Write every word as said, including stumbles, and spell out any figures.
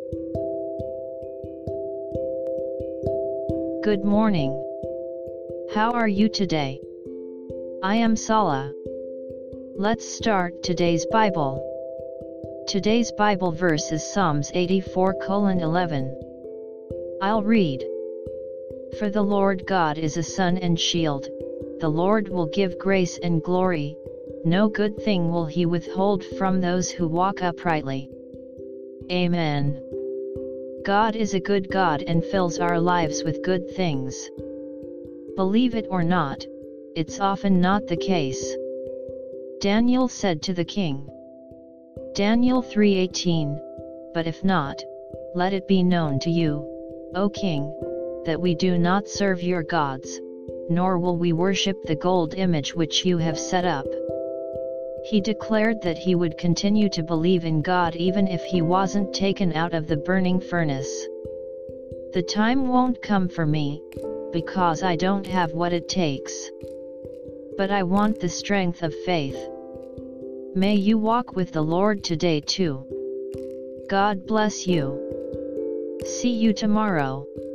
Good morning. How are you today? I am Sala. Let's start today's Bible. Today's Bible verse is Psalms eighty-four colon eleven. I'll read. For the Lord God is a sun and shield, the Lord will give grace and glory, no good thing will he withhold from those who walk uprightly. Amen. God is a good God and fills our lives with good things. Believe it or not, it's often not the case. Daniel said to the king. Daniel three eighteen, But if not, let it be known to you, O king, that we do not serve your gods, nor will we worship the gold image which you have set up. He declared that he would continue to believe in God even if he wasn't taken out of the burning furnace. The time won't come for me, because I don't have what it takes. But I want the strength of faith. May you walk with the Lord today too. God bless you. See you tomorrow.